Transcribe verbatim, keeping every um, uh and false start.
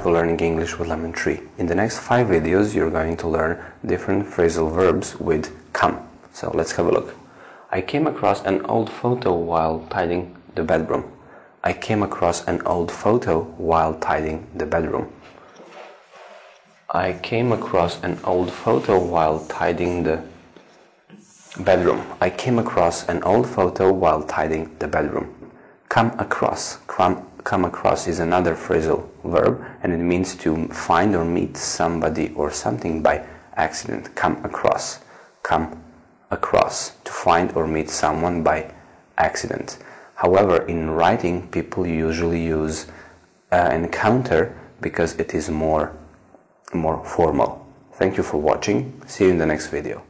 to Learning English with Lemon Tree. In the next five videos you're going to learn different phrasal verbs with come. So let's have a look. I came across an old photo while tidying the bedroom. I came across an old photo while tidying the bedroom. I came across an old photo while tidying the bedroom. I came across an old photo while tidying the bedroom. Come across. Come, come across is another phrasal verb, and it means to find or meet somebody or something by accident. Come across. Come across. To find or meet someone by accident. However, in writing, people usually use uh, encounter because it is more, more formal. Thank you for watching. See you in the next video.